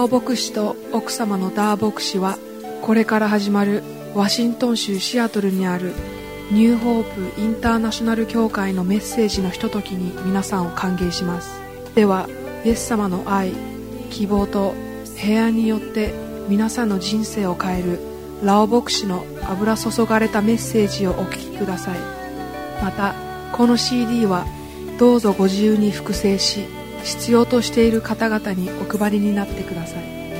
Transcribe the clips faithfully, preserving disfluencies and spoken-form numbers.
オ牧師と奥様のダー牧師はこれから始まるワシントン州シアトルにあるニューホープインターナショナル教会のメッセージのひとときに皆さんを歓迎します。ではイエス様の愛、希望と平安によって皆さんの人生を変えるラオ牧師の油注がれたメッセージをお聞きください。またこの シーディー はどうぞご自由に複製し、必要としている方々にお配りになってください。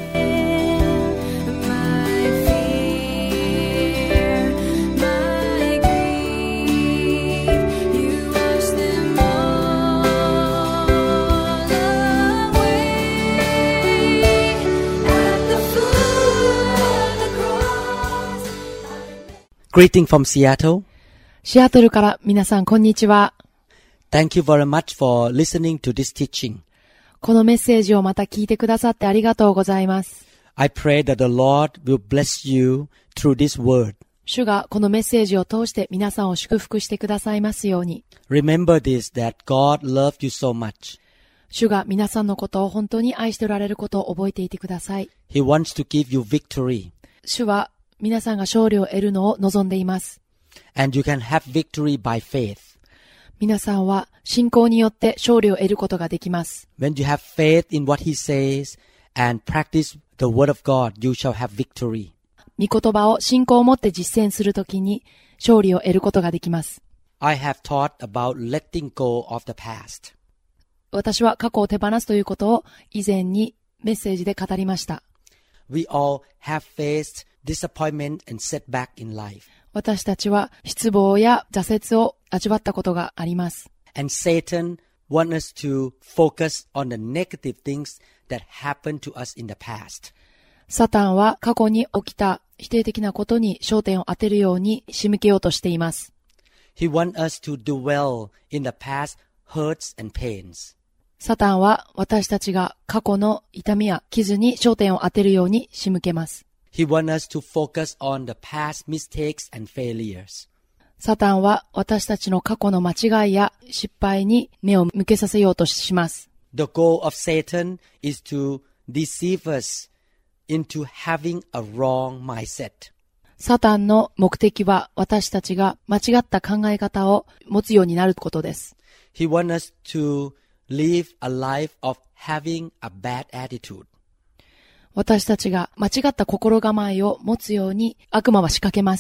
Greeting from Seattle. シアトルから皆さんこんにちは。 Thank you very much for listening to this teaching. このメッセージをまた聞いてくださってありがとうございます。 I pray that the Lord will bless you through this word. 主がこのメッセージを通して皆さんを祝福してくださいますように。 Remember this, that God loved you so much. 主が皆さんのことを本当に愛しておられることを覚えていてください。 He wants to give you victory. 主は皆さんが勝利を得るのを望んでいます。 And you can have victory by faith. 皆さんは信仰によって勝利を得ることができます。 When you have faith in what He says and practice the word of God, you shall have victory. 御言葉を信仰を持って実践するときに勝利を得ることができます。 I have taught about letting go of the past. 私は過去を手放すということを以前にメッセージで語りました。 We all have faced disappointment and setback in life. 私たちは失望や挫折を味わったことがあります。 And Satan wants us to focus on the negative things that happened to us in the past. サタンは過去に起きた否定的なことに焦点を当てるように仕向けようとしています。 He wants us to dwell in the past hurts and pains. サタンは私たちが過去の痛みや傷に焦点を当てるように仕向けます。 He wants us to focus on the past mistakes and failures. サタンは私たちの過去の間違いや失敗に目を向けさせようとします。 The goal of Satan is to deceive us into having a wrong mindset. サタンの目的は私たちが間違った考え方を持つようになることです。 He wants us to live a life of having a bad attitude. 私たちが間違った心構えを持つように悪魔は仕掛けます。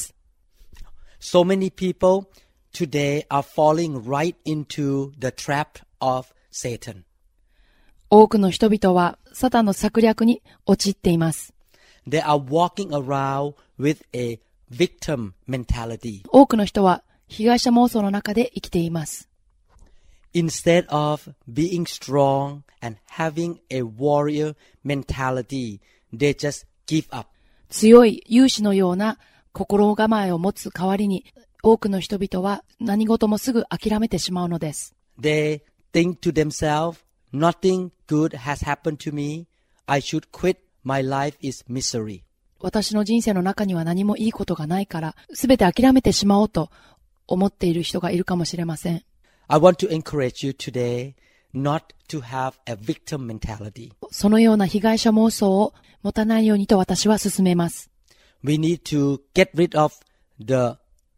So many people today are falling right into the trap of Satan. 多くの人々はサタンの策略に陥っています。 They are walking around with a victim mentality. 多くの人は被害者妄想の中で生きています。 Instead of being strong and having a warrior mentality, they just give up. 強い勇士のような心構えを持つ代わりに、多くの人々は何事もすぐ諦めてしまうのです。 They think to themselves, nothing good has happened to me. I should quit. My life is misery. 私の人生の中には何もいいことがないから、すべて諦めてしまおうと思っている人がいるかもしれません。 I want to encourage you today not to have a victim mentality. そのような被害者妄想を持たないようにと私は勧めます。 We need to get rid of the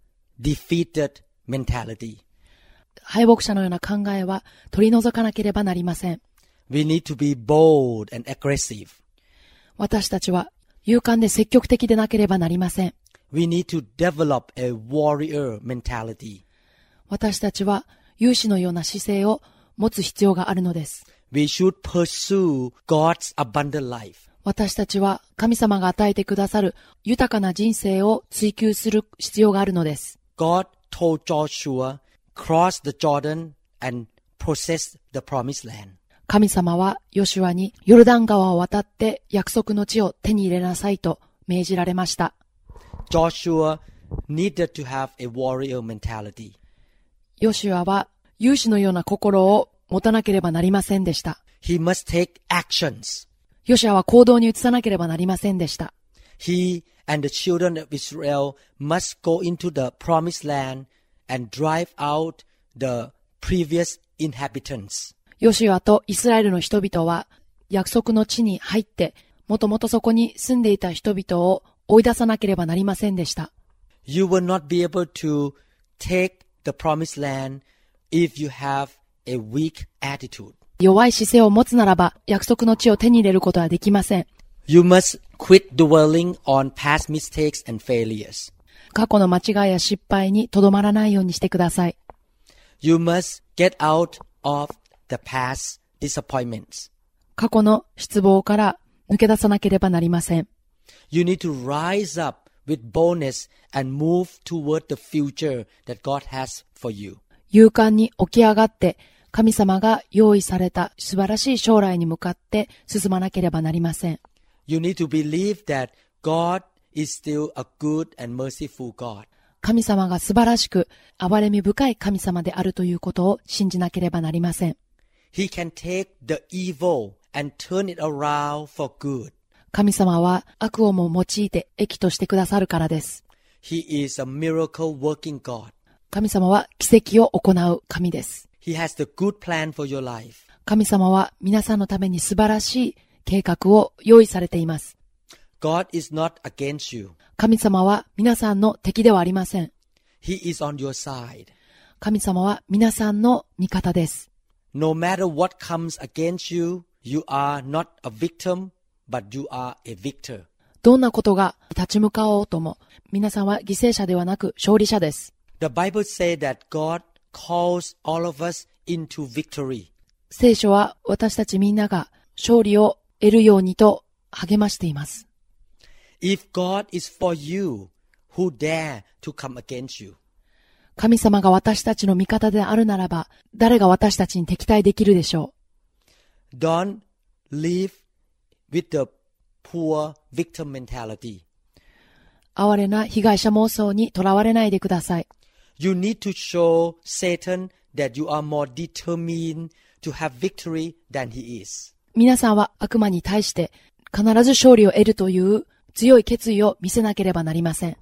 defeated mentality. 敗北者のような考えは取り除かなければなりません。 We need to be bold and aggressive. 私たちは勇敢で積極的でなければなりません。 We need to develop a warrior mentality. 私たちは勇士のような姿勢を持つ必要があるのです。 We should pursue God's abundant life. 私たちは神様が与えてくださる豊かな人生を追求する必要があるのです。 God told Joshua, cross the Jordan and possess the promised land. 神様はヨシュアにヨルダン川を渡って約束の地を手に入れなさいと命じられました。 Joshua needed to have a warrior mentality. ヨシュアは勇士のような心を持たなければなりませんでした。 He must take actions. ヨシュアは行動に移さなければなりませんでした。 He and the children of Israel must go into the promised land and drive out the previous inhabitants. ヨシュアとイスラエルの人々は約束の地に入ってもともとそこに住んでいた人々を追い出さなければなりませんでした。 You will not be able to take the promised land if you have a weak attitude. 弱い姿勢を持つならば、約束の地を手に入れることはできません。 You must quit dwelling on past mistakes and failures. 過去の間違いや失敗にとどまらないようにしてください。 You must get out of the past disappointments. 過去の失望から抜け出さなければなりません。 You need to rise up with boldness and move toward the future that God has for you. 勇敢に起き上がって、神様が用意された素晴らしい将来に向かって進まなければなりません。 You need to believe that God is still a good and merciful God. 神様が素晴らしく憐れみ深い神様であるということを信じなければなりません。 He can take the evil and turn it around for good. 神様は悪をも用いて益としてくださるからです。 He is a miracle working God. 神様は奇跡を行う神です。 He has the good plan for your life. 神様は皆さんのために素晴らしい計画を用意されています。 God is not against you. 神様は皆さんの敵ではありません。 He is on your side. 神様は皆さんの味方です。 No matter what comes against you, you are not a victim, but you are a victor. どんなことが立ち向かおうとも、皆さんは犠牲者ではなく勝利者です。 The Bible says that God calls all of us into victory. 聖書は私たちみんなが勝利を得るようにと励ましています。 If God is for you, who dare to come against you? 神様が私たちの味方であるならば、誰が私たちに敵対できるでしょう。Don't live with the poor victim mentality. 哀れな被害者妄想にとらわれないでください。 You need to show Satan that you are more determined to have victory than he is. 皆さんは悪魔に対して必ず勝利を得るという強い決意を見せなければなりません。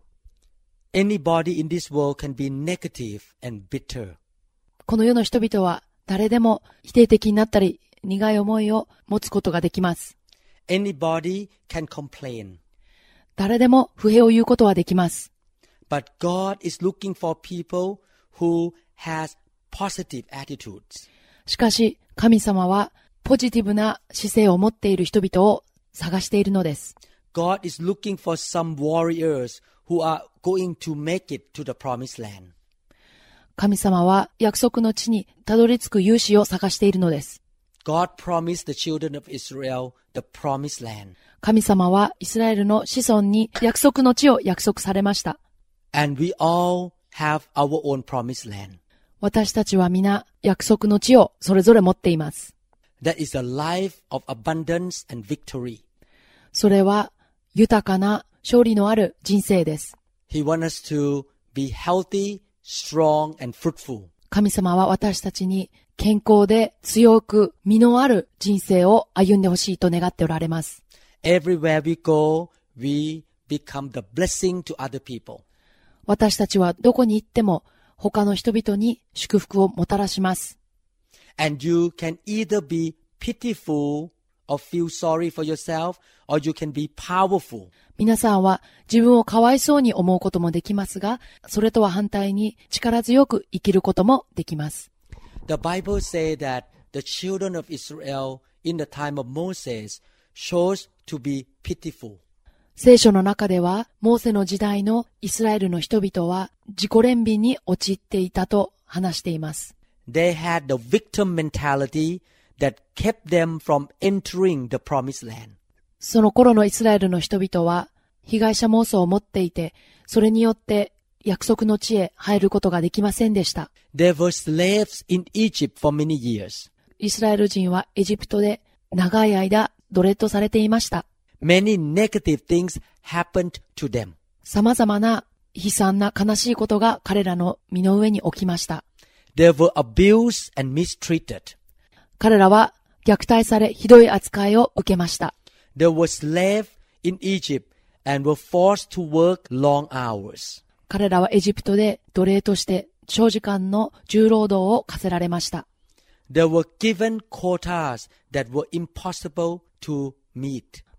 Anybody in this world can be negative and bitter. この世の人々は誰でも否定的になったり苦い思いを持つことができます。 Anybody can complain. 誰でも不平を言うことはできます。 But God is looking for people who has positive attitudes. しかし神様はポジティブな姿勢を持っている人々を探しているのです。 God is looking for some warriors who are going to make it to the promised land. 神様は約束の地にたどり着く勇士を探しているのです。 God promised the children of Israel the promised land. 神様はイスラエルの子孫に約束の地を約束されました。 And we all have our own promised land. 私たちは皆約束の地をそれぞれ持っています。 That is a life of abundance and victory. それは豊かな勝利のある人生です。 He wants us to be healthy, strong, and fruitful. 神様は私たちに健康で強く実のある人生を歩んでほしいと願っておられます。 Everywhere we go, we become the blessing to other people. 私たちはどこに行っても他の人々に祝福をもたらします。 And you can either be pitiful or feel sorry for yourself, or you can be powerful. 皆さんは自分をかわいそうに思うこともできますが、それとは反対に力強く生きることもできます。 The Bible says that the children of Israel in the time of Moses chose to be pitiful. 聖書の中では、モーセの時代のイスラエルの人々は自己憐憫に陥っていたと話しています。 They had the victim mentality that kept them from entering the promised land. その頃のイスラエルの人々は被害者妄想を持っていて、それによって約束の地へ入ることができませんでした。 They were slaves in Egypt for many years. イスラエル人はエジプトで長い間奴隷とされていました。 Many negative things happened to them. 様々な悲惨な悲しいことが彼らの身の上に起きました。 They were abused and mistreated. 彼らは虐待されひどい扱いを受けました。 They were slaves in Egypt and were forced to work long hours. 彼らはエジプトで奴隷として長時間の重労働を課せられました。 They were given quotas that were impossible to meet.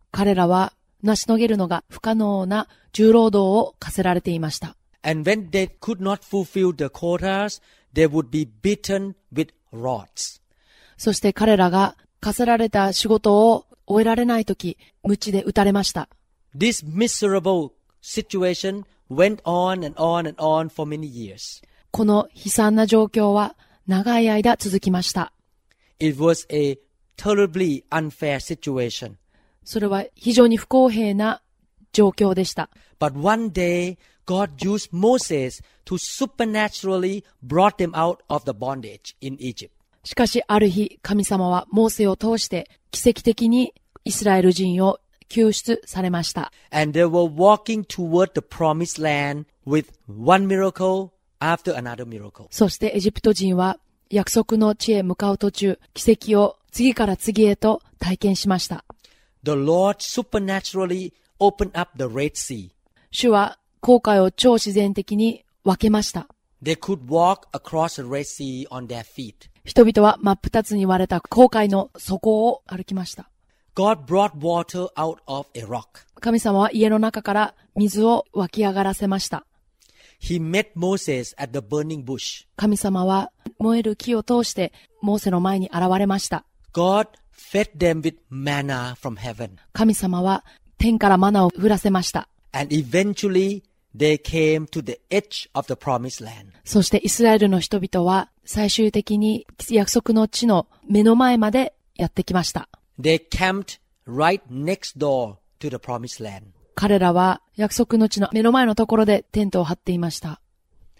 彼らは成し遂げるのが不可能な重労働を課せられていました。 And when they could not fulfill the quotas, they would be beaten with rods. そして彼らが課せられた仕事を終えられないとき、鞭で打たれました。 This miserable situation went on and on and on for many years. この悲惨な状況は長い間続きました。 It was a terribly unfair situation. それは非常に不公平な状況でした。 But one day, God used Moses to supernaturally brought them out of the bondage in Egypt. しかしある日、神様はモーセを通して奇跡的にイスラエル人を救出されました。 And they were walking toward the promised land with one miracle after another miracle. そしてエジプト人は約束の地へ向かう途中、奇跡を次から次へと体験しました。 The Lord supernaturally opened up the Red Sea. 主は紅海を超自然的に分けました。 They could walk across the Red Sea on their feet. 人々は真っ二つに割れた紅海の底を歩きました。 God brought water out of a rock. 神様は家の中から水を湧き上がらせました。 He met Moses at the burning bush. 神様は燃える木を通してモーセの前に現れました。 God fed them with manna from heaven. 神様は天からマナを降らせました。 And eventually they came to the edge of the promised land. そしてイスラエルの人々は最終的に約束の地の目の前までやってきました。 They camped right next door to the promised land. 彼らは約束の地の目の前のところでテントを張っていました。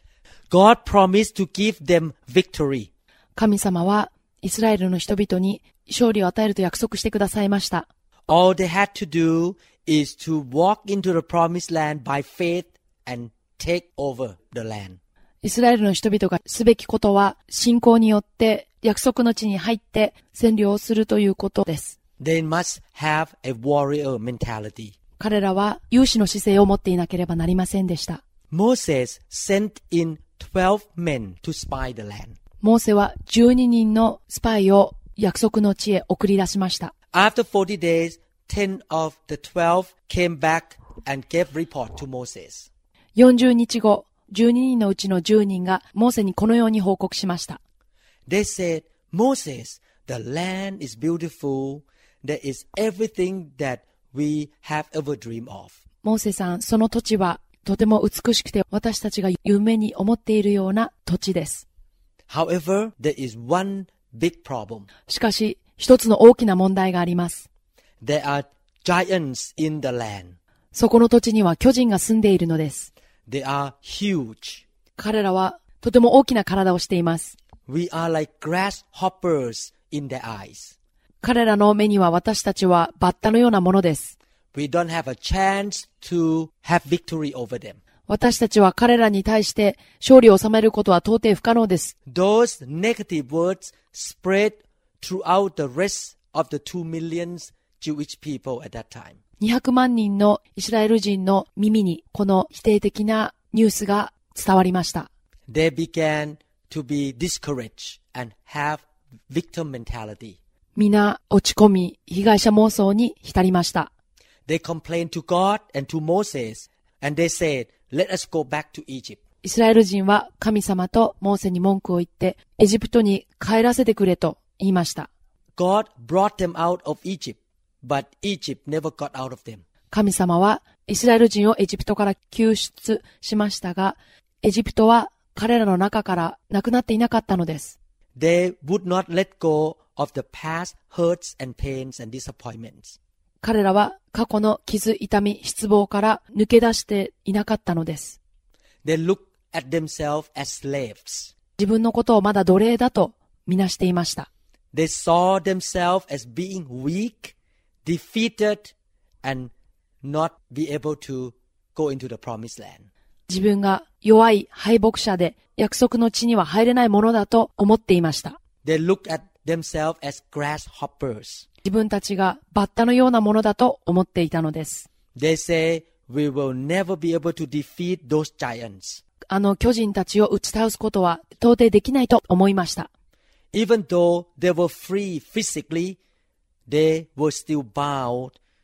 God promised to give them victory. 神様はイスラエルの人々に勝利を与えると約束してくださいました。 All they had to do is to walk into the promised land by faith and take over the land. イスラエルの人々がすべきことは信仰によって約束の地に入って占領をするということです。 They must have a warrior mentality. 彼らは勇士の姿勢を持っていなければなりませんでした。 Moses sent in twelve men to spy the land. モーセはじゅうににんのスパイを約束の地へ送り出しました。 After forty days, ten of the twelve came back and gave report to Moses. よんじゅうにちご、じゅうににんのうちのじゅうにんがモーセにこのように報告しました。 They said, Moses, the land is beautiful. There is everything that we have ever dreamed of. モーセさん、その土地はとても美しくて私たちが夢に思っているような土地です。 However, there is one big problem. しかし、一つの大きな問題があります。 There are giants in the land. そこの土地には巨人が住んでいるのです。 They are huge. 彼らはとても大きな体をしています。 We are like grasshoppers in their eyes. 彼らの目には私たちはバッタのようなものです。 We don't have a chance to have victory over them. 私たちは彼らに対して勝利を収めることは到底不可能です。 Those negative words spread throughout the rest of the two millions Jewish people at that time. にひゃくまんにんのイスラエル人の耳にこの否定的なニュースが伝わりました。 They began to be discouraged and have victim mentality. 皆落ち込み、被害者妄想に浸りました。 They complained to God and to Moses, and they said, "Let us go back to Egypt." イスラエル人は神様とモーセに文句を言って、エジプトに帰らせてくれと言いました。 God brought them out of Egypt, but Egypt never got out of them. 神様はイスラエル人をエジプトから救出しましたが、エジプトは彼らの中からなくなっていなかったのです。 They would not let go of the past hurts and pains and disappointments. 彼らは過去の傷、痛み、失望から抜け出していなかったのです。 They looked at themselves as slaves. 自分のことをまだ奴隷だとみなしていました。 They saw themselves as being weak, defeated, and not be able to go into the promised land. 自分が弱い敗北者で約束の地には入れないものだと思っていました。 They looked at themselves as grasshoppers. 自分たちがバッタのようなものだと思っていたのです。 They say, we will never be able to defeat those giants. あの巨人たちを打ち倒すことは到底できないと思いました。 Even though they were free physically, they were still bound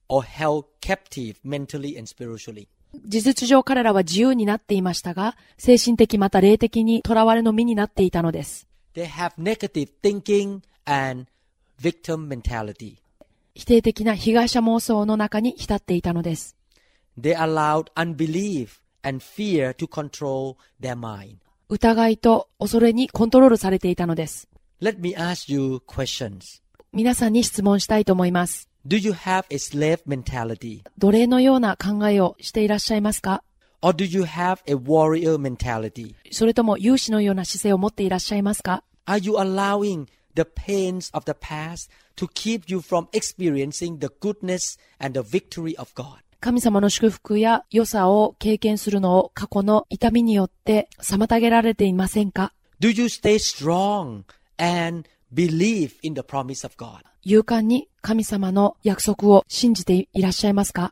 or held captive mentally and spiritually. 事実上彼らは自由になっていましたが、精神的また霊的に囚われの身になっていたのです。 They have negative thinking and victim mentality. 否定的な被害者妄想の中に浸っていたのです。 They allowed unbelief and fear to control their mind. 疑いと恐れにコントロールされていたのです。 Let me ask you questions. 皆さんに質問したいと思います。 Do you have a slave mentality? 奴隷のような考えをしていらっしゃいますか？ Or do you have a warrior mentality? それとも勇士のような姿勢を持っていらっしゃいますか？ Are you allowing the pains of the past to keep you from experiencing the goodness and the victory of God? 神様の祝福や良さを経験するのを過去の痛みによって妨げられていませんか？ Do you stay strong and believe in the promise of God? 勇敢に神様の約束を信じていらっしゃいますか？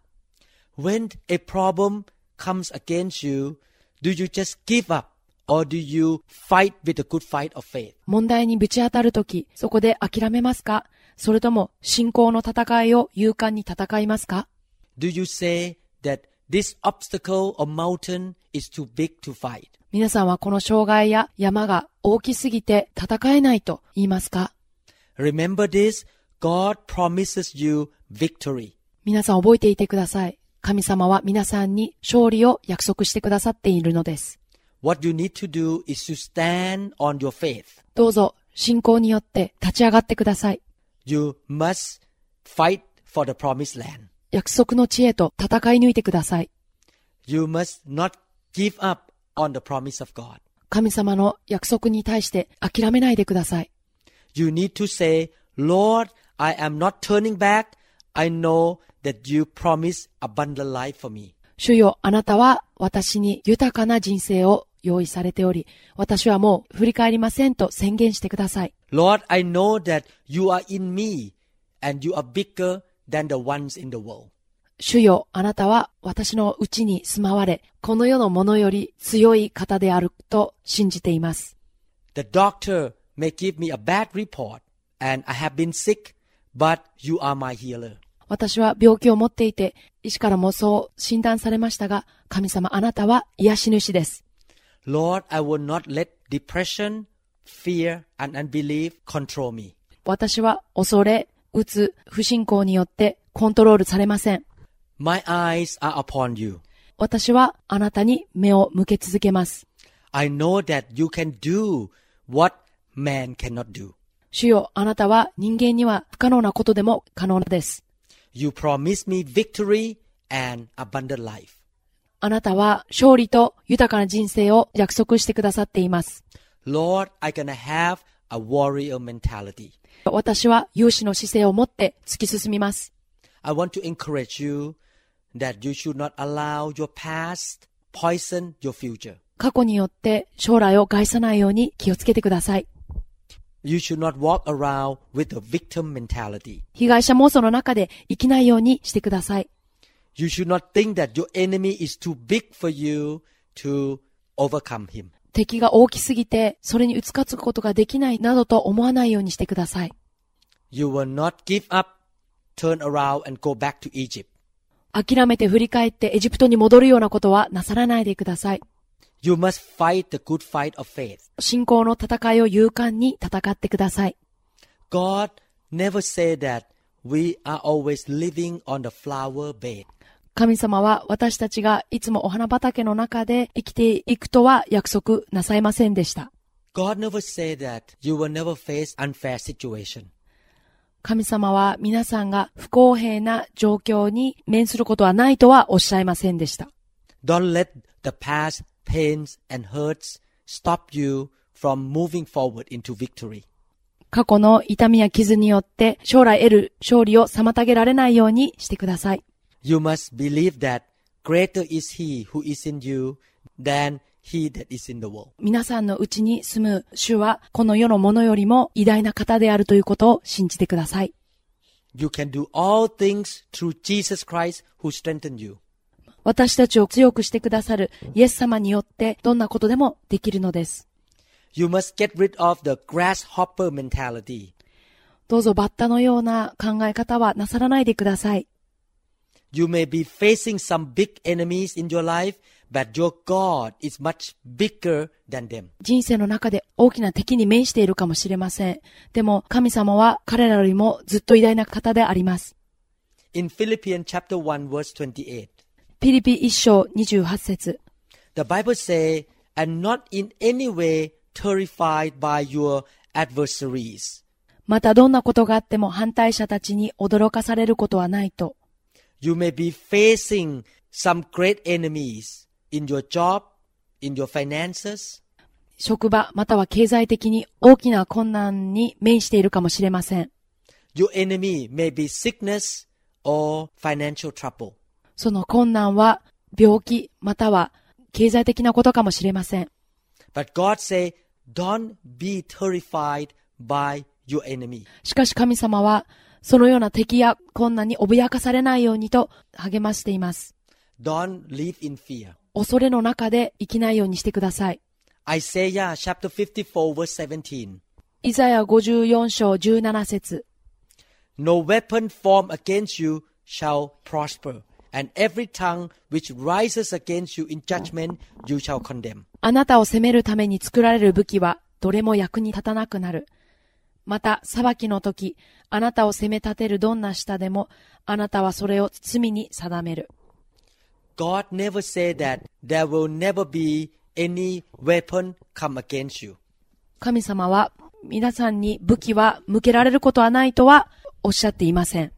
When a problem comes against you, do you just give up or do you fight with a good fight of faith? 問題にぶち当たるとき、そこで諦めますか？それとも信仰の戦いを勇敢に戦いますか？ Do you say that this obstacle or mountain is too big to fight? 皆さんはこの障害や山が大きすぎて戦えないと言いますか？ Remember this, God promises you victory. 皆さん覚えていてください。神様は皆さんに勝利を約束してくださっているのです。 What you need to do is to stand on your faith. どうぞ信仰によって立ち上がってください。 You must fight for the promised land. 約束の地へと戦い抜いてください。 You must not give up on the promise of God. 神様の約束に対して諦めないでください。 You need to say, Lord, I am not turning back. I know that you promise abundant life for me. 主よ、あなたは私に豊かな人生を用意されており、私はもう振り返りませんと宣言してください。 Lord, I know that you are in me and you are bigger than the ones in the world. 主よ、あなたは私のうちに住まわれ、この世のものより強い方であると信じています。 The doctor may give me a bad report and I have been sick, but you are my healer. 私は病気を持っていて、医師からもそう診断されましたが、神様あなたは癒し主です。 Lord, I will not let depression, fear, and unbelief control me. 私は恐れ、うつ、不信仰によってコントロールされません。 My eyes are upon you. 私はあなたに目を向け続けます。 I know that you can do what man cannot do. 主よ、あなたは人間には不可能なことでも可能です。 You promise me victory and abundant life. あなたは勝利と豊かな人生を約束してくださっています。 Lord, I'm gonna have a warrior mentality. 私は勇士の姿勢を持って突き進みます。 I want to encourage you that you should not allow your past poison your future. 過去によって将来を害さないように気をつけてください。 You should not walk around with a victim mentality. 被害者妄想の中で生きないようにしてください。 You should not think that your enemy is too big for you to overcome him. 敵が大きすぎてそれに打ち勝つことができないなどと思わないようにしてください。 You will not give up, turn around and go back to Egypt. 諦めて振り返ってエジプトに戻るようなことはなさらないでください。 You must fight the good fight of faith. 信仰の戦いを勇敢に戦ってください。 God never said that we are always living on the flower bed. 神様は私たちがいつもお花畑の中で生きていくとは約束なさいませんでした。 God never said that you will never face unfair situation. 神様は皆さんが不公平な状況に面することはないとはおっしゃいませんでした。 Don't let the past pains and hurts stop you from moving forward into victory. 過去の痛みや傷によって将来得る勝利を妨げられないようにしてください。 You must believe that greater is He who is in you than he that is in the world. 皆さんのうちに住む主はこの世のものよりも偉大な方であるということを信じてください。 You can do all things through Jesus Christ who strengthened you. 私たちを強くしてくださるイエス様によってどんなことでもできるのです。 You must get rid of the grasshopper mentality. どうぞバッタのような考え方はなさらないでください。 You may be facing some big enemies in your life, but your God is much bigger than them. 人生の中で大きな敵に面しているかもしれません。でも神様は彼らよりもずっと偉大な方であります。 In Philippians chapter one verse twenty-eight, ピリピ一章にじゅうはち節 the Bible says, and not in any way terrified by your adversaries. またどんなことがあっても反対者たちに驚かされることはないと。 You may be facing some great enemies in your job, in your finances. 職場または経済的に大きな困難に面しているかもしれません。 Your enemy may be sickness or financial trouble. その困難は病気または経済的なことかもしれません。 But God say, don't be terrified by your enemy. しかし神様はそのような敵や困難に脅かされないようにと励ましています。 Don't live in fear. 恐れの中で生きないようにしてください。 Isaiah chapter fifty-four verse seventeen. イザヤごじゅうよん章じゅうなな節 No weapon formed against you shall prosper, and every tongue which rises against you in judgment you shall condemn. あなたを責めるために作られる武器はどれも役に立たなくなる。また裁きの時、あなたを責め立てるどんな舌でも、あなたはそれを罪に定める。 God never said that there will never be any weapon come against you. 神様は皆さんに武器は向けられることはないとはおっしゃっていません。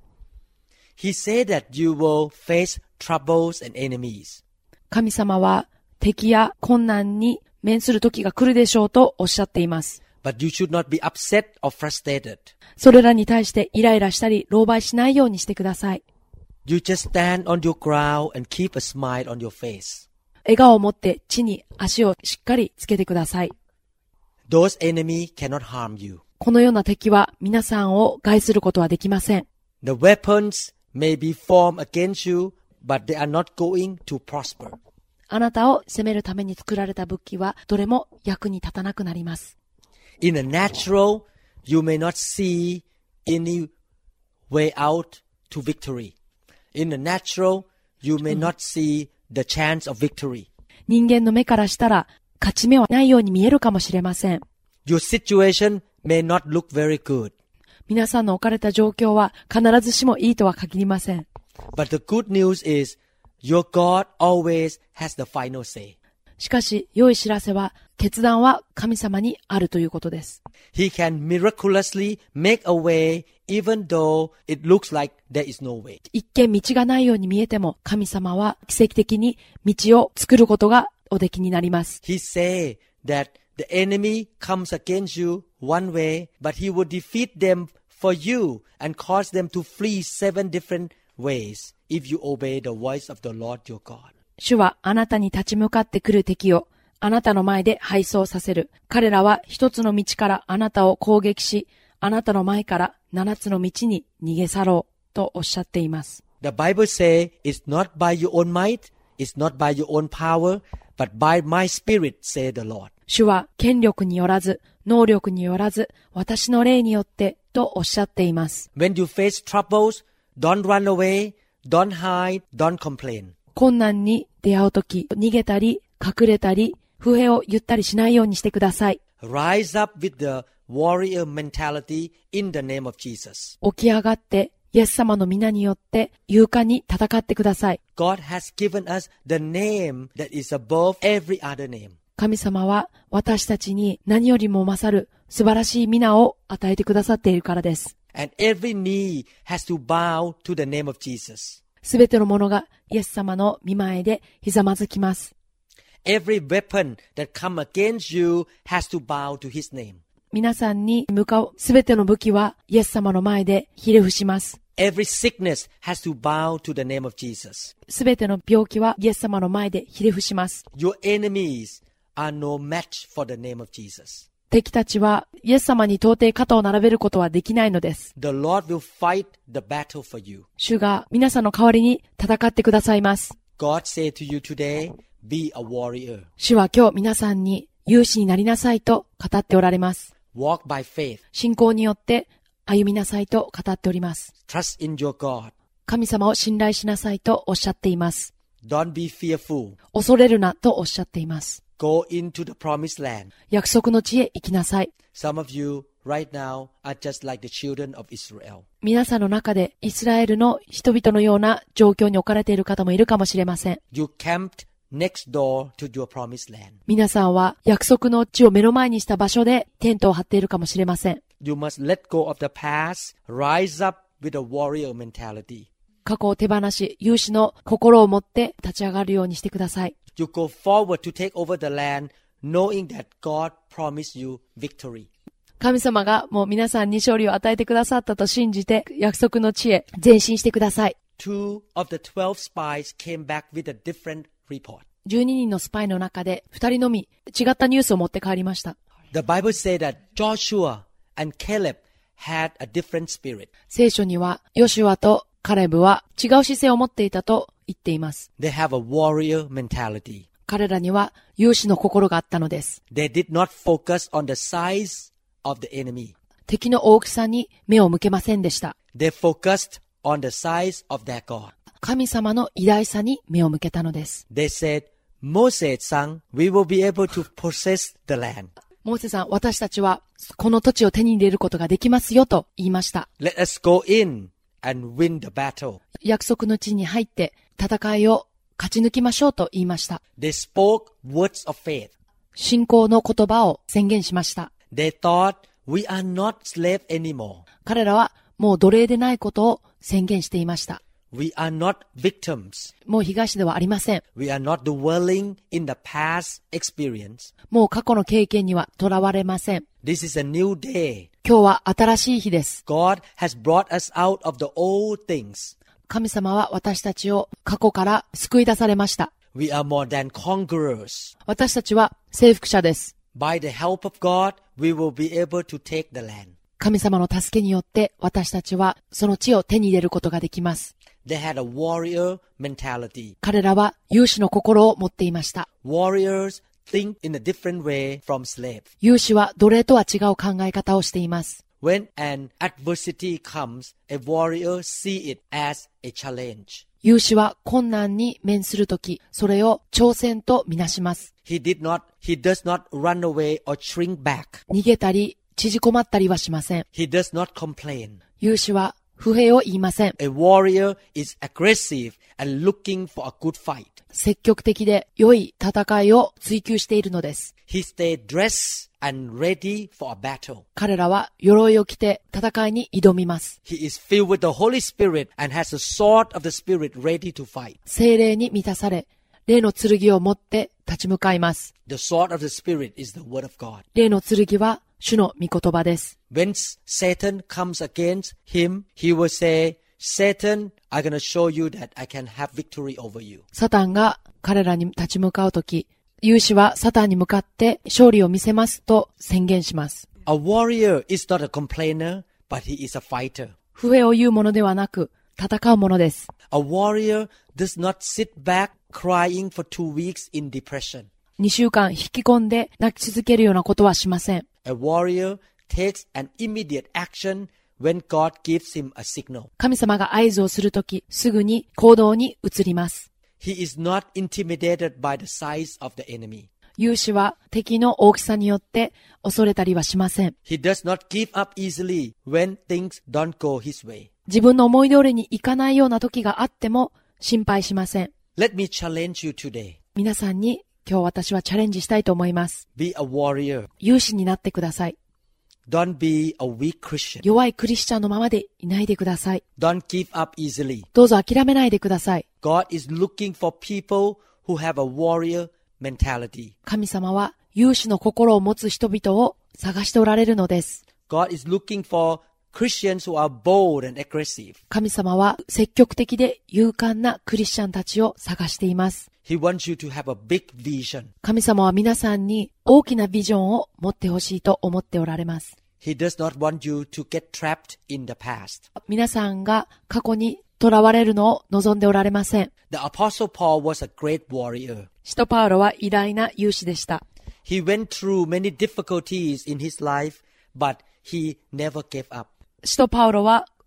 He said that you will face troubles and enemies. 神様は敵や困難に面する時が来るでしょうとおっしゃっています。 But you should not be upset or frustrated. それらに対してイライラしたり、狼狽しないようにしてください。 You just stand on your ground and keep a smile on your face. 笑顔を持って地に足をしっかりつけてください。 Those enemies cannot harm you. このような敵は皆さんを害することはできません。 The weapons may be formed against you, but they are not going to prosper. あなたを責めるために作られた武器はどれも役に立たなくなります。 In the natural, you may not see any way out to victory. In the natural, you may not see the chance of victory. 人間の目からしたら勝ち目はないように見えるかもしれません。 Your situation may not look very good. 皆さんの置かれた状況は必ずしもいいとは限りません。 But the good news is, your God always has the final say. しかし、良い知らせは、決断は神様にあるということです。 He can miraculously make a way even though it looks like there is no way. 一見道がないように見えても、神様は奇跡的に道を作ることがおできになります。 He say that the enemy comes against you one way, but he will defeat them for you and cause them to flee seven different ways if you obey the voice of the Lord your God. 主はあなたに立ち向かってくる敵をあなたの前で敗走させる。彼らは一つの道からあなたを攻撃し、あなたの前から七つの道に逃げ去ろうとおっしゃっています。 The Bible say it's not by your own might, it's not by your own power, but by my spirit, say the Lord. 主は権力によらず、能力によらず、私の霊によってとおっしゃっています。 When you face troubles, don't run away, don't hide, don't complain. 困難に出会うとき、逃げたり、隠れたり、不平を言ったりしないようにしてください。 Rise up with the warrior mentality in the name of Jesus. 起き上がって、イエス様の皆によって勇敢に戦ってください。 God has given us the name that is above every other name. 神様は私たちに何よりも勝る素晴らしい皆を与えてくださっているからです。 And every knee has to bow to the name of Jesus. すべてのものがイエス様の御前でひざまずきます。 Every weapon that come against you has to bow to his name. 皆さんに向かうすべての武器はイエス様の前でひれ伏します。 Every sickness has to bow to the name of Jesus. すべての病気はイエス様の前でひれ伏します。 Your enemies are no match for the name of Jesus. 敵たちはイエス様に到底肩を並べることはできないのです。 The Lord will fight the battle for you. 主が皆さんの代わりに戦ってくださいます。 God say to you today, be a warrior. 主は今日皆さんに勇士になりなさいと語っておられます。 Walk by faith. 信仰によって歩みなさいと語っております。 Trust in your God. 神様を信頼しなさいとおっしゃっています。 Don't be fearful. 恐れるなとおっしゃっています。 Go into the promised land. 約束の地へ行きなさい。 Some of you right now are just like the children of Israel. 皆さんの中でイスラエルの人々のような状況に置かれている方もいるかもしれません。 You camped next door to your promised land. 皆さんは約束の地を目の前にした場所でテントを張っているかもしれません。 You must let go of the past, rise up with a warrior mentality. 過去を手放し、勇士の心を持って立ち上がるようにしてください。 You go forward to take over the land, knowing that God promised you victory. 神様がもう皆さんに勝利を与えてくださったと信じて、約束の地へ前進してください。 Two of the twelve spies came back with a different report. じゅうににんのスパイの中でふたりのみ違ったニュースを持って帰りました。 The Bible says that Joshua and Caleb had a different spirit. 聖書にはヨシュアとカレブは違う姿勢を持っていたと言っています。 They have a warrior mentality. 彼らには勇士の心があったのです。 They did not focus on the size of the enemy. 敵の大きさに目を向けませんでした。 They focused on the size of their God. 神様の偉大さに目を向けたのです。 They said, Moses son, we will be able to possess the land. モーセさん、私たちはこの土地を手に入れることができますよと言いました。 Let us go in and win the battle. 約束の地に入って戦いを勝ち抜きましょうと言いました。 They spoke words of faith. 信仰の言葉を宣言しました。 They thought, we are not slave anymore. 彼らはもう奴隷でないことを宣言していました。 We are not victims. もう被害者ではありません。 We are not dwelling in the past experience. もう過去の経験にはとらわれません。 This is a new day. 今日は新しい日です。 God has brought us out of the old things. 神様は私たちを過去から救い出されました。 We are more than conquerors. 私たちは征服者です。 By the help of God, we will be able to take the land. 神様の助けによって私たちはその地を手に入れることができます。 They had a warrior mentality. 彼らは勇士の心を持っていました。 Warriors think in a different way from slaves. 勇士は奴隷とは違う考え方をしています。 When an adversity comes, a warrior see it as a challenge. 勇士は困難に面するとき、それを挑戦とみなします。 He did not, he does not run away or shrink back. 逃げたり、縮こまったりはしません。 He does not complain. 勇士は不平を言いません。 A warrior is aggressive and looking for a good fight. 積極的で良い戦いを追求しているのです。 He stayed dressed and ready for a battle. 彼らは鎧を着て戦いに挑みます。 He is filled with the Holy Spirit and has the sword of the Spirit ready to fight. 聖霊に満たされ、霊の剣を持って立ち向かいます。 The sword of the Spirit is the word of God. 霊の剣は主の御言葉です。 When Satan comes against him, he will say, Satan, I'm going to show you that I can have victory over you. サタンが彼らに立ち向かうとき、勇士はサタンに向かって勝利を見せますと宣言します。 A warrior is not a complainer, but he is a fighter. 不平を言うものではなく、戦うものです。 A warrior does not sit back crying for two weeks in depression. にしゅうかん引き込んで泣き続けるようなことはしません。 A warrior takes an immediate action when God gives him a signal. 神様が合図をするとき、すぐに行動に移ります。 He is not intimidated by the size of the enemy. 勇士は敵の大きさによって恐れたりはしません。 He does not give up easily when things don't go his way. 自分の思い通りにいかないような時があっても心配しません。 Let me challenge you today. 皆さんに今日私はチャレンジしたいと思います。 Be a warrior. 勇士になってください。 Don't be a weak Christian. 弱いクリスチャンのままでいないでください。 Don't give up easily. どうぞ諦めないでください。 God is looking for people who have a warrior mentality. 神様は勇士の心を持つ人々を探しておられるのです。 God is looking for Christians who are bold and aggressive. 神様は積極的で勇敢なクリスチャンたちを探しています。 He wants you to have a big vision. 神様は皆さんに大きなビジョンを持ってほしいと思っておられます。 He does not want you to get trapped in the past. 皆さんが過去に囚われるのを望んでおられません。 The Apostle Paul was a great warrior. 使徒パウロは偉大な勇士でした。 He went through many difficulties in his life, but he never gave up. 使徒パウロは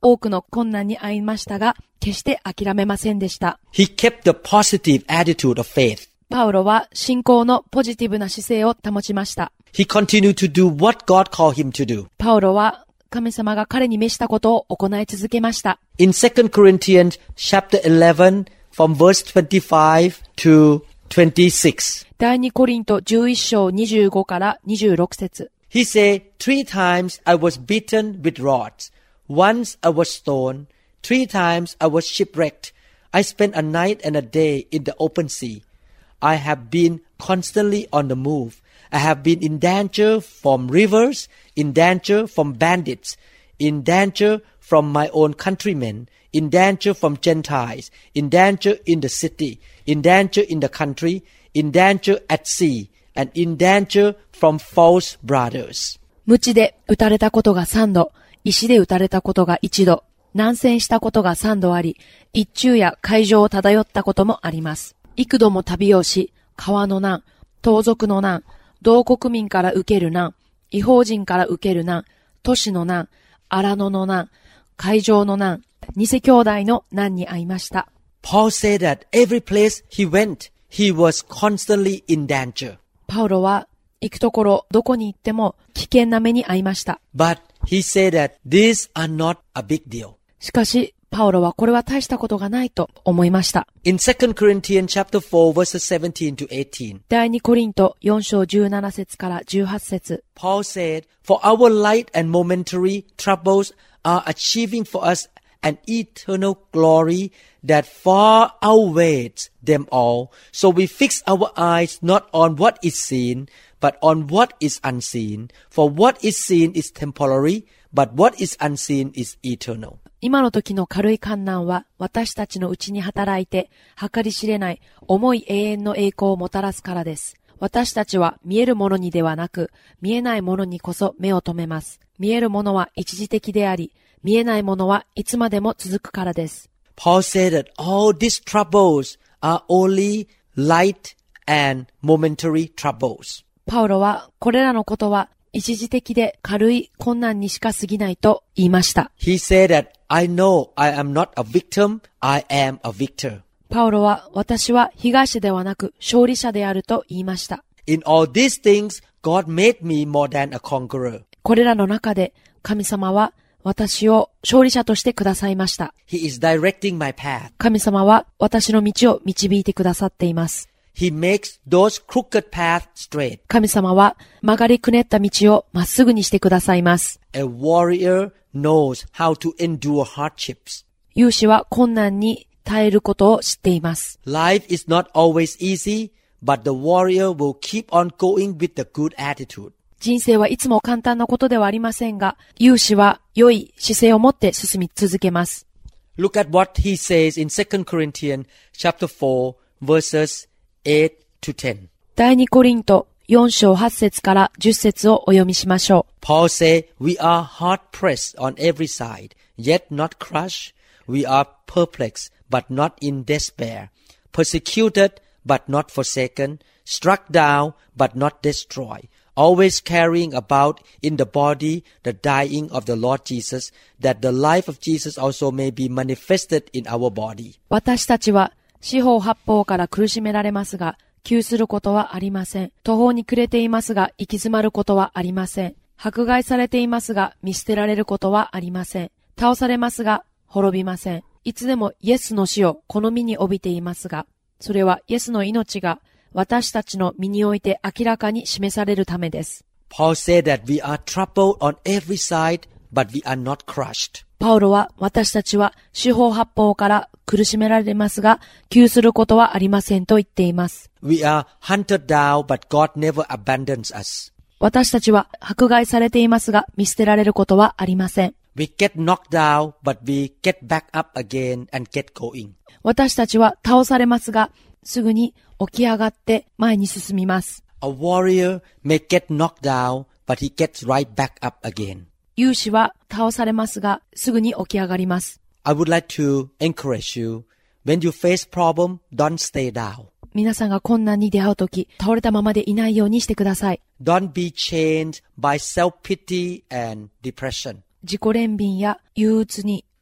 多くの困難に遭いましたが、決して諦めませんでした。 He kept the positive attitude of faith. パウロは信仰のポジティブな姿勢を保ちました。 He continued to do what God called him to do. パウロは神様が彼に召したことを行い続けました。 In Second Corinthians chapter eleven from verse twenty-five to twenty-six. 第二コリントじゅういっ章にじゅうごからにじゅうろく節。 He said, Three times I was beaten with rods. Once I was stoned. Three times I was shipwrecked. I spent a night and a day in the open sea. I have been constantly on the move. I have been in danger from rivers, in danger from bandits, in danger from my own countrymen, in danger from Gentiles, in danger in the city, in danger in the country, in danger at sea, and in danger from false brothers. 鞭で打たれたことが三度、石で打たれたことが一度、難戦したことが三度あり、一昼夜海上を漂ったこともあります。幾度も旅をし、川の難、盗賊の難、同国民から受ける難、異邦人から受ける難、都市の難、荒野の難、海上の難、偽兄弟の難に遭いました。 Paul said that every place he went, he was constantly in danger. パウロは行くところどこに行っても危険な目に遭いました。 But he said that these are not a big deal. しかし、パウロはこれは大したことがないと思いました。 In Second Corinthians chapter four verses seventeen to eighteen. 第二コリントよん章じゅうなな節からじゅうはち節。 Paul said, For our light and momentary troubles are achieving for us an eternal glory that far outweighs them all. So we fix our eyes not on what is seen, but on what is unseen. For what is seen is temporary, but what is unseen is eternal. 今の時の軽い観難は私たちのうちに働いて計り知れない重い永遠の栄光をもたらすからです。私たちは見えるものにではなく見えないものにこそ目を留めます。見えるものは一時的であり、見えないものはいつまでも続くからです。 Paul said that all these troubles are only light and momentary troubles. パウロはこれらのことは一時的で軽い困難にしか過ぎないと言いました。 He said that I know I am not a victim, I am a victor. パウロは私は被害者ではなく勝利者であると言いました。 In all these things, God made me more than a conqueror. これらの中で神様は私を勝利者としてくださいました。 He is directing my path. 神様は私の道を導いてくださっています。 He makes those crooked paths straight. 神様は曲がりくねった道をまっすぐにしてくださいます。 A warrior knows how to endure hardships. 勇士は困難に耐えることを知っています。 Life is not always easy, but the warrior will keep on going with the good attitude. 人生はいつも簡単なことではありませんが、勇士は良い姿勢を持って進み続けます。 Look at what he says in Second Corinthians chapter four verses eight to ten. 第二コリントよん章はち節からじゅっ節をお読みしましょう。 Paul said, We are hard pressed on every side, yet not crushed. We are perplexed, but not in despair. Persecuted, but not forsaken. Struck down, but not destroyed. Always carrying about in the body the dying of the Lord Jesus, that the life of Jesus also may be manifested in our body. 私たちは四方八方から苦しめられますが、窮することはありません。途方に暮れていますが、行き詰まることはありません。迫害されていますが、見捨てられることはありません。倒されますが、滅びません。いつでもイエスの死をこの身に帯びていますが、それはイエスの命が私たちの身において明らかに示されるためです。 Paul said that we are troubled on every side, but we are not crushed. パウロは私たちは四方八方から苦しめられますが、窮することはありませんと言っています。 We are hunted down, but God never abandons us. 私たちは迫害されていますが、見捨てられることはありません。 We get knocked down, but we get back up again and get going. 私たちは倒されますが、すぐに起き上がって前に進みます。 A warrior may get knocked down, but he gets right back up again. 勇士は倒されますが、すぐに起き上がります。 I would like to encourage you, when you face problem, don't stay down. 皆さんが困難に出会うとき、倒れたままでいないようにしてください。 Don't be chained by self-pity and depression. 自己憐憫や憂鬱に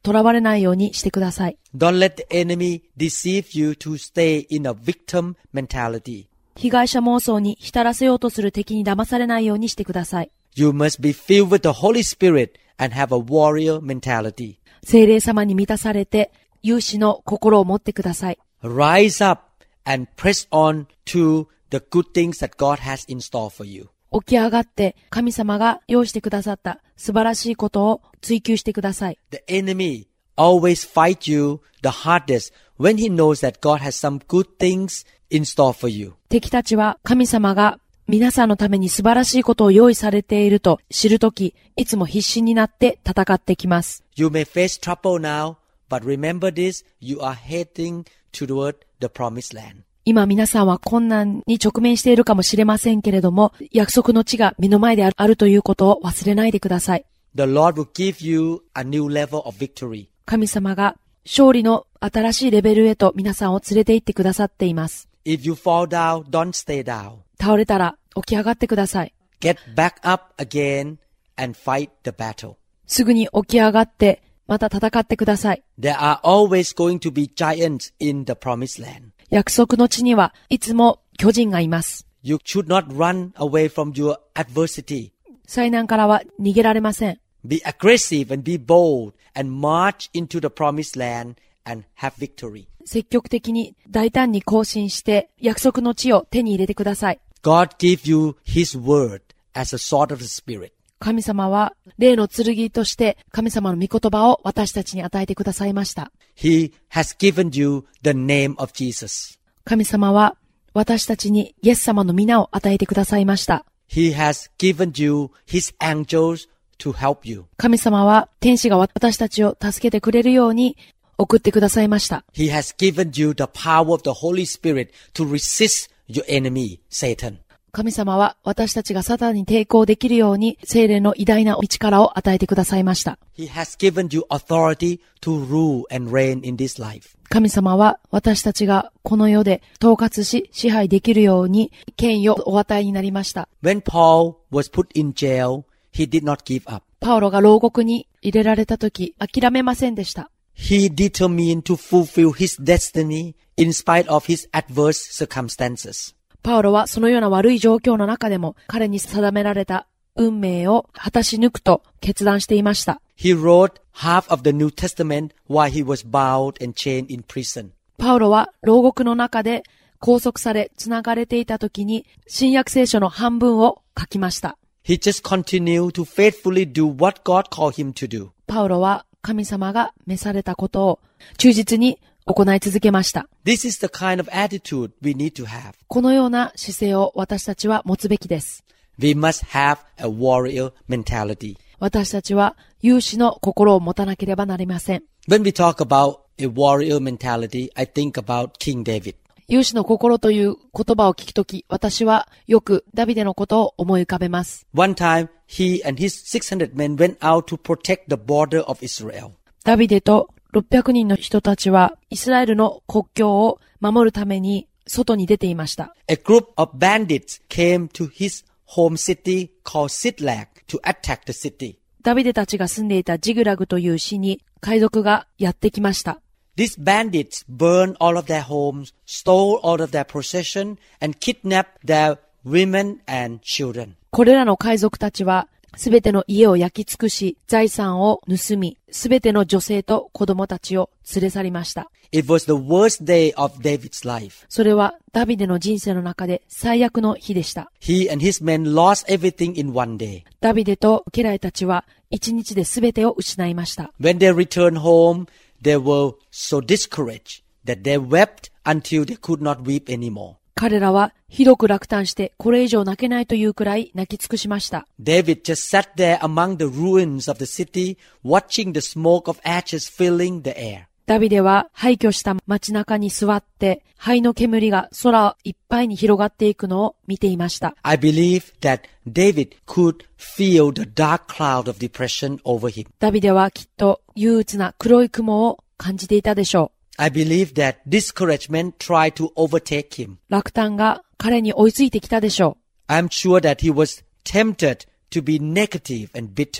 囚われないようにしてください。 Don't let the enemy deceive you to stay in a victim mentality. 被害者妄想に浸らせようとする敵に騙されないようにしてください。 You must be filled with the Holy Spirit and have a warrior mentality. 聖霊様に満たされて、勇士の心を持ってください。 Rise up and press on to the good things that God has in store for you. 起き上がって神様が用意してくださった素晴らしいことを追求してください。 The enemy always fight you the hardest when he knows that God has some good things in store for you. 敵たちは神様が皆さんのために素晴らしいことを用意されていると知るとき、いつも必死になって戦ってきます。 You may face trouble now, but remember this, you are heading toward the promised land. 今皆さんは困難に直面しているかもしれませんけれども、約束の地が目の前であるということを忘れないでください。 The Lord will give you a new level of victory. 神様が勝利の新しいレベルへと皆さんを連れて行ってくださっています。 If you fall down, don't stay down. 倒れたら起き上がってください。 Get back up again and fight the battle. すぐに起き上がってまた戦ってください。 There are always going to be giants in the promised land. 約束の地にはいつも巨人がいます。 You should not run away from your adversity. 災難からは逃げられません。 Be aggressive and be bold and march into the promised land and have victory. 積極的に大胆に行進して約束の地を手に入れてください。 God give you His word as a sword of the Spirit. 神様は霊の剣として神様の御言葉を私たちに与えてくださいました。 He has given you the name of Jesus. 神様は私たちにイエス様の皆を与えてくださいました。 He has given you His angels to help you. 神様は天使が私たちを助けてくれるように送ってくださいました。 He has given you the power of the Holy Spirit to resist your enemy, Satan. 神様は私たちがサタンに抵抗できるように聖霊の偉大な力を与えてくださいました。 He has given you authority to rule and reign in this life. 神様は私たちがこの世で統括し支配できるように権威をお与えになりました。 When Paul was put in jail, he did not give up. パウロが牢獄に入れられたとき諦めませんでした。 He determined to fulfill his destiny in spite of his adverse circumstances. パウロはそのような悪い状況の中でも彼に定められた運命を果たし抜くと決断していました。 He wrote half of the New Testament while he was bound and chained in prison. パウロは牢獄の中で拘束され繋がれていた時に新約聖書の半分を書きました。 He just continued to faithfully do what God called him to do. パウロは神様が召されたことを忠実に行い続けました。 This is the kind of attitude we need to have. このような姿勢を私たちは持つべきです。 We must have a warrior mentality. 私たちは勇士の心を持たなければなりません。 When we talk about a warrior mentality, I think about King David. 勇士の心という言葉を聞くとき、私はよくダビデのことを思い浮かべます。 One time, he and his six hundred men went out to protect the border of Israel. ダビデとろっぴゃくにんの人たちはイスラエルの国境を守るために外に出ていました。 A group of bandits came to his home city called Ziklag to attack the city. ダビデたちが住んでいたジグラグという市に海賊がやってきました。 These bandits burned all of their homes, stole all of their possession, and kidnapped their women and children. これらの海賊たちはすべての家を焼き尽くし、財産を盗み、すべての女性と子供たちを連れ去りました。 It was the worst day of David's life. それはダビデの人生の中で最悪の日でした。 He and his men lost everything in one day. ダビデと家来たちは一日で全てを失いました。 When they returned home, they were so discouraged that they wept until they could not weep anymore. 彼らはひどく落胆してこれ以上泣けないというくらい泣き尽くしました。 David just sat there among the ruins of the city, watching the smoke of ashes filling the air. ダビデは廃墟した街中に座って灰の煙が空いっぱいに広がっていくのを見ていました。 I believe that David could feel the dark cloud of depression over him. ダビデはきっと憂鬱な黒い雲を感じていたでしょう。 I believe that discouragement tried to overtake him. 落胆が彼に追いついてきたでしょう。 I'm sure that he was tempted to be negative and bitter.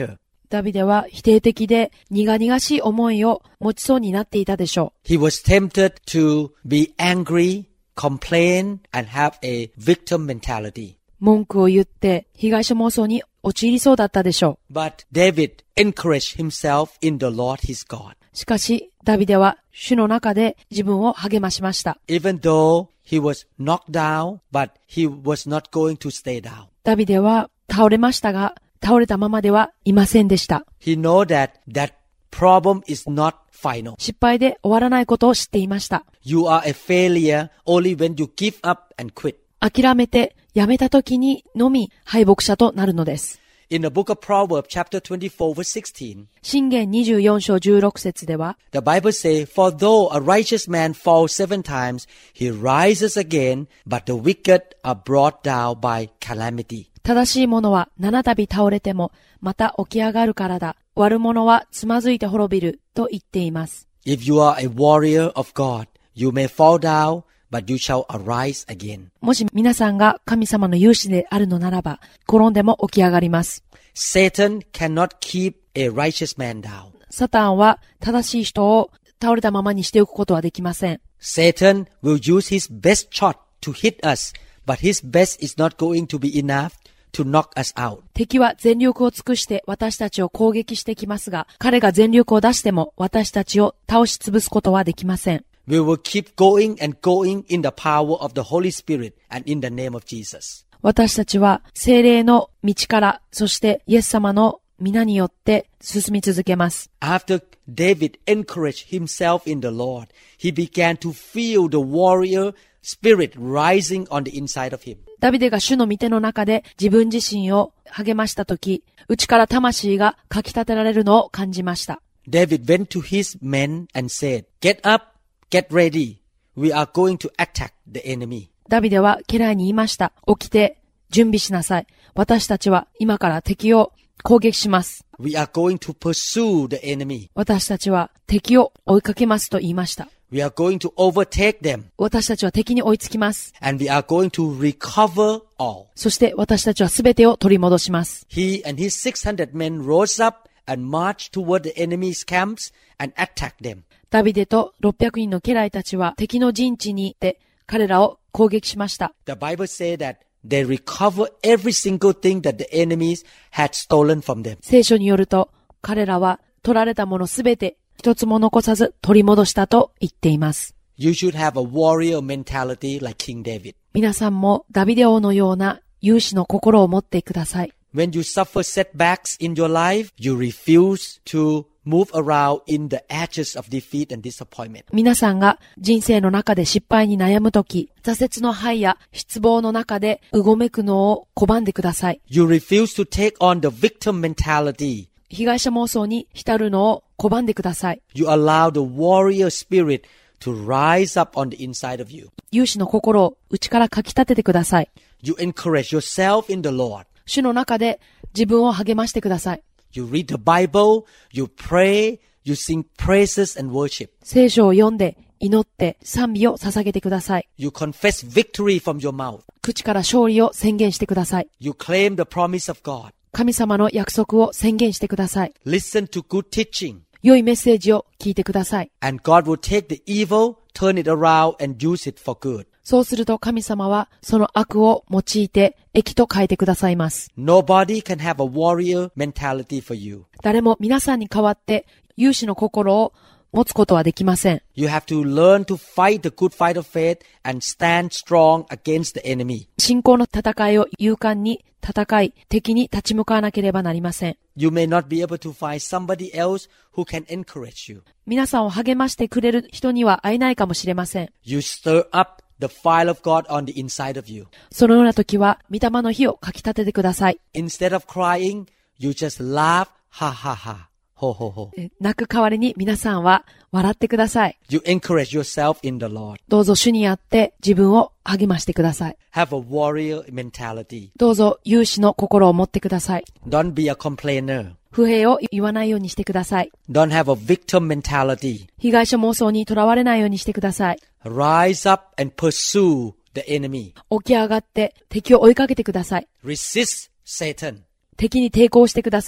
ダビデは否定的で苦々しい思いを持ちそうになっていたでしょう。 He was tempted to be angry, complain, and have a victim mentality. 文句を言って被害者妄想に陥りそうだったでしょう。 But David encouraged himself in the Lord his God. しかし、ダビデは主の中で自分を励ましました。 Even though he was knocked down, but he was not going to stay down. ダビデは倒れましたが、倒れたままではいませんでした。 He knew that that problem is not final. 失敗で終わらないことを知っていました。 You are a failure only when you give up and quit. 諦めてやめた時にのみ敗北者となるのです。 In the book of Proverbs, chapter twenty-four, verse sixteen, 箴言にじゅうよん章じゅうろく節では、 the Bible says, For though a righteous man falls seven times, he rises again, but the wicked are brought down by calamity. 正しい者は七度倒れてもまた起き上がるからだ。悪者はつまずいて滅びると言っています。 If you are a warrior of God, you may fall down, but you shall arise again. もし皆さんが神様の勇士であるのならば、転んでも起き上がります。 Satan cannot keep a righteous man down. サタンは正しい人を倒れたままにしておくことはできません。 Satan will use his best shot to hit us, but his best is not going to be enough to knock us out. 敵は全力を尽くして私たちを攻撃してきますが、彼が全力を出しても私たちを倒し潰すことはできません。 We will keep going and going in the power of the Holy Spirit and in the name of Jesus. 私たちは聖霊の道から、そしてイエス様の皆によって進み続けます。 After David encouraged himself in the Lord, he began to feel the warrior spirit rising on the inside of him. ダビデが主の御手の中で自分自身を励ましたとき、内から魂がかき立てられるのを感じました。 David went to his men and said, Get up!Get ready. We are going to attack the enemy. ダビデは家来に言いました。起きて準備しなさい。私たちは今から敵を攻撃します。 We are going to pursue the enemy. 私たちは敵を追いかけますと言いました。 We are going to overtake them. 私たちは敵に追いつきます。 And we are going to recover all. そして私たちはすべてを取り戻します。 He and his six hundred men rose up and marched toward the enemy's camps and attacked them. ダビデとろっぴゃくにんの家来たちは敵の陣地に行って彼らを攻撃しました。 The Bible says that they recover every single thing that the enemies had stolen from them. 聖書によると彼らは取られたものすべて一つも残さず取り戻したと言っています。 You should have a warrior mentality like King David. 皆さんもダビデ王のような勇士の心を持ってください。 When you suffer setbacks in your life, you refuse to move around in the edges of defeat and disappointment. 皆さんが人生の中で失敗に悩むとき、挫折の灰や失望の中でうごめくのを拒んでください。 You refuse to take on the victim mentality. 被害者妄想に浸るのを拒んでください。 You allow the warrior spirit to rise up on the inside of you. 勇士の心を内からかき立ててください。 You encourage yourself in the Lord. 主の中で自分を励ましてください。 You read the Bible, you pray, you sing praises and worship. 聖書を読んで、祈って賛美を捧げてください。 You confess victory from your mouth. 口から勝利を宣言してください。 You claim the promise of God. 神様の約束を宣言してください。 Listen to good teaching. 良いメッセージを聞いてください。 And God will take the evil, turn it around and use it for good. そうすると神様はその悪を用いて益と変えてくださいます。 Nobody can have a warrior mentality for you. 誰も皆さんに代わって勇士の心を持つことはできません。 You have to learn to fight the good fight of faith and stand strong against the enemy. 信仰の戦いを勇敢に戦い、敵に立ち向かわなければなりません。 You may not be able to find somebody else who can encourage you. 皆さんを励ましてくれる人には会えないかもしれません。 You stir up the fire of God on the inside of you. そのような時は、御霊の火をかき立ててください。 Instead of crying, you just laugh, ha ha ha, ho ho ho. 泣く代わりに皆さんは笑ってください。 You encourage yourself in the Lord. どうぞ主にあって自分を励ましてください。 Have a warrior mentality. どうぞ勇士の心を持ってください。 Don't be a complainer. 不平を言わないようにしてください。 Don't have a victim mentality. 被害者妄想にとらわれないようにしてください。 Rise up and pursue the enemy. 起き上がって敵を追いかけてください。 Resist Satan. 敵に抵抗してください。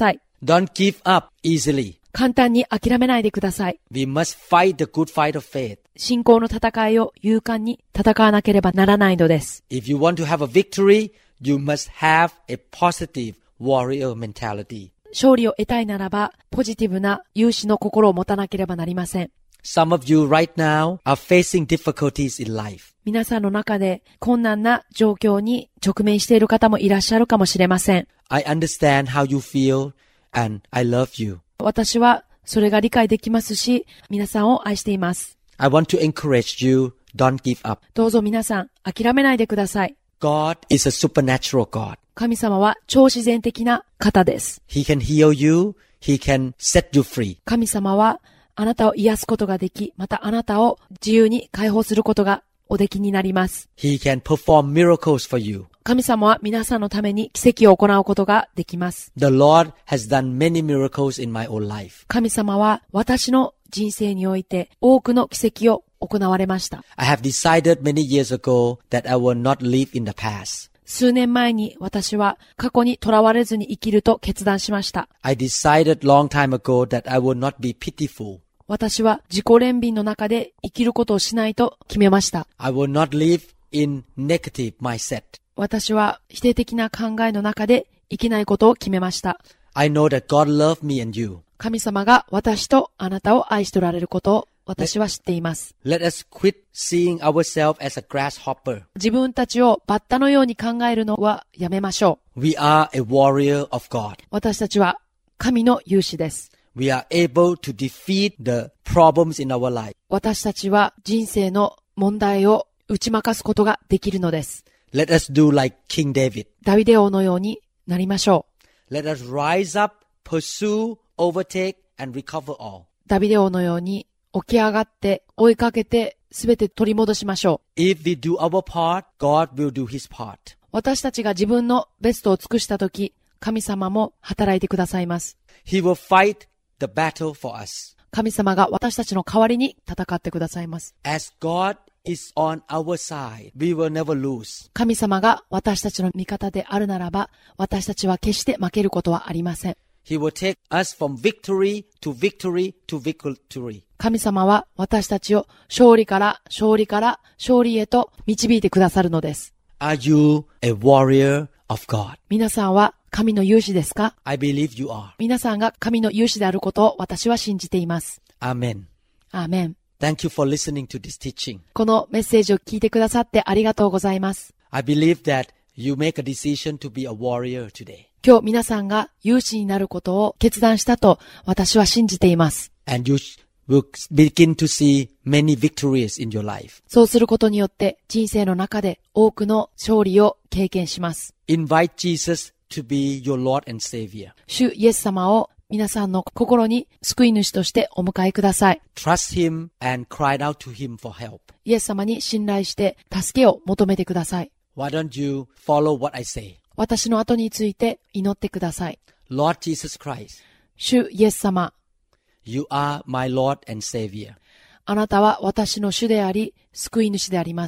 Don't give up easily. 簡単に諦めないでください。 We must fight the good fight of faith. 信仰の戦いを勇敢に戦わなければならないのです。 If you want to have a victory, you must have a positive warrior mentality. 勝利を得たいならば、ポジティブな勇士の心を持たなければなりません。 Some of you right now are facing difficulties in life. 皆さんの中で困難な状況に直面している方もいらっしゃるかもしれません。 I understand how you feel and I love you. 私はそれが理解できますし、皆さんを愛しています。 I want to encourage you, don't give up. どうぞ皆さん、諦めないでください。 God is a supernatural God. 神様は超自然的な方です。 He can heal you, He can set you free. 神様はあなたを癒すことができ、またあなたを自由に解放することがおできになります。 He can perform miracles for you. 神様は皆さんのために奇跡を行うことができます。 The Lord has done many miracles in my own life. 神様は私の人生において多くの奇跡を行われました。 I have decided many years ago that I will not live in the past. 数年前に私は過去にとらわれずに生きると決断しました。 I decided long time ago that I will not be pitiful. 私は自己憐憫の中で生きることをしないと決めました。 I will not live in negative mindset. 私は否定的な考えの中で生きないことを決めました。 I know that God loves me and you. 神様が私とあなたを愛しておられることを私は知っています。 Let us quit seeing ourselves as a grasshopper. 自分たちをバッタのように考えるのはやめましょう。 We are a warrior of God. 私たちは神の勇士です。 We are able to defeat the problems in our life. 私たちは人生の問題を打ち負かすことができるのです。 Let us do like King David. ダビデ王のようになりましょう。 Let us rise up, pursue, overtake, and recover all. ダビデ王のように起き上がって追いかけてすべて取り戻しましょう。 If we do our part, God will do His part. 私たちが自分のベストを尽くしたとき、神様も働いてくださいます。 He will fight the battle for us. 神様が私たちの代わりに戦ってくださいます。 As God is on our side, we will never lose. 神様が私たちの味方であるならば、私たちは決して負けることはありません。 He will take us from victory to victory to victory. 神様は私たちを勝利から勝利から勝利へと導いてくださるのです。 Are you a warrior of God? 皆さんは神の勇士ですか？ I believe you are. 皆さんが神の勇士であることを私は信じています。 Amen. アーメン。 Thank you for listening to this teaching. このメッセージを聞いてくださってありがとうございます。 I believe that you make a decision to be a warrior today. 今日皆さんが勇士になることを決断したと私は信じています。 And you will begin to see many victories in your life. そうすることによって人生の中で多くの勝利を経験します。 Invite Jesus to be your Lord and Savior. 主イエス様を皆さんの心に救い主としてお迎えください。 Trust Him and cry out to Him for help. イエス様に信頼して助けを求めてください。 Why don't you follow what I say? 私の後について祈ってください。 Lord Jesus Christ, 主イエス様、 you are my Lord and Savior. あなたは私の主であり、救い主であります。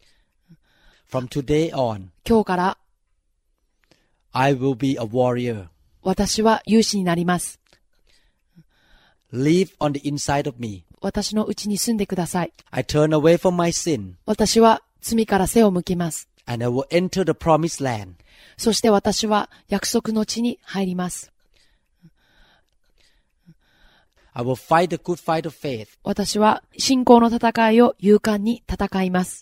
From today on, 今日から I will be a warrior. 私は勇士になります。 Live on the inside of me. 私のうちに住んでください。 I turn away from my sin, 私は罪から背を向けます。 and I will enter the promised land. そして私は約束の地に入ります。 I will fight the good fight of faith. 私は信仰の戦いを勇敢に戦います。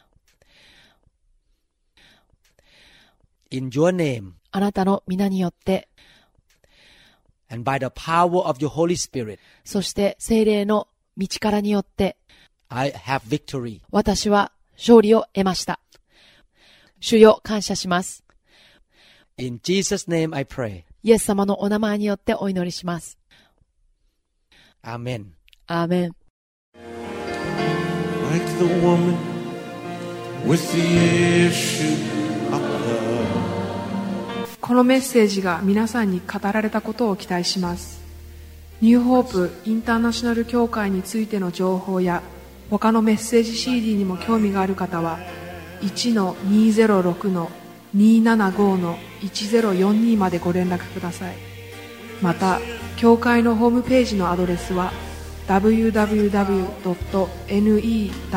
In your name, あなたの皆によって、 and by the power of your Holy Spirit, そして聖霊の道からによって、 I have victory. 私は勝利を得ました。主よ、感謝します。 In Jesus' name I pray. イエス様のお名前によってお祈りします。 Amen. アーメン。 Like the woman with the issue of blood. このメッセージが皆さんに語られたことを期待します。ニューホープインターナショナル協会についての情報や他のメッセージ シーディー にも興味がある方は いちのにゼロろくのにーななごのいちゼロよんに までご連絡ください。 また教会のホームページのアドレスは ダブリューダブリューダブリュードットネッ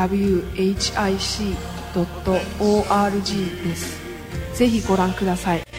トヒックドットオーアールジー です。ぜひご覧ください。